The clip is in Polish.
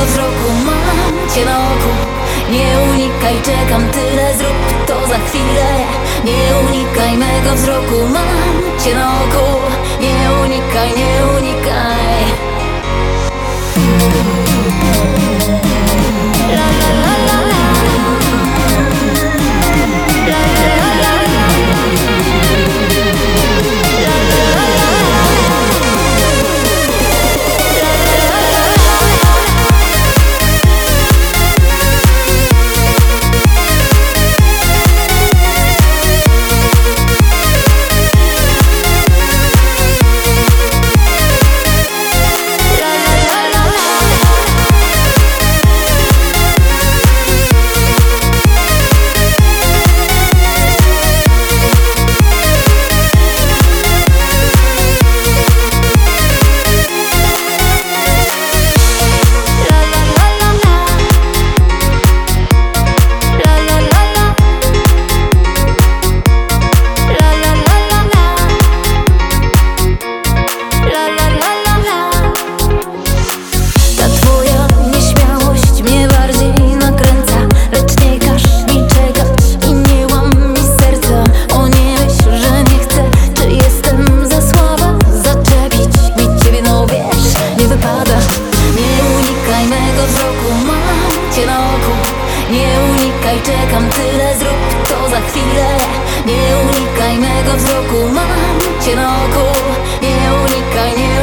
wzroku, mam cię na oku. Nie unikaj, czekam, tyle zrób to za chwilę. Nie unikaj mego wzroku, mam cię na oku. Nie unikaj, nie unikaj. La la la la la. La la la la la. La la la la la. Czekam, tyle zrób to za chwilę. Nie unikaj mego wzroku, mam cię na oku. Nie unikaj, nie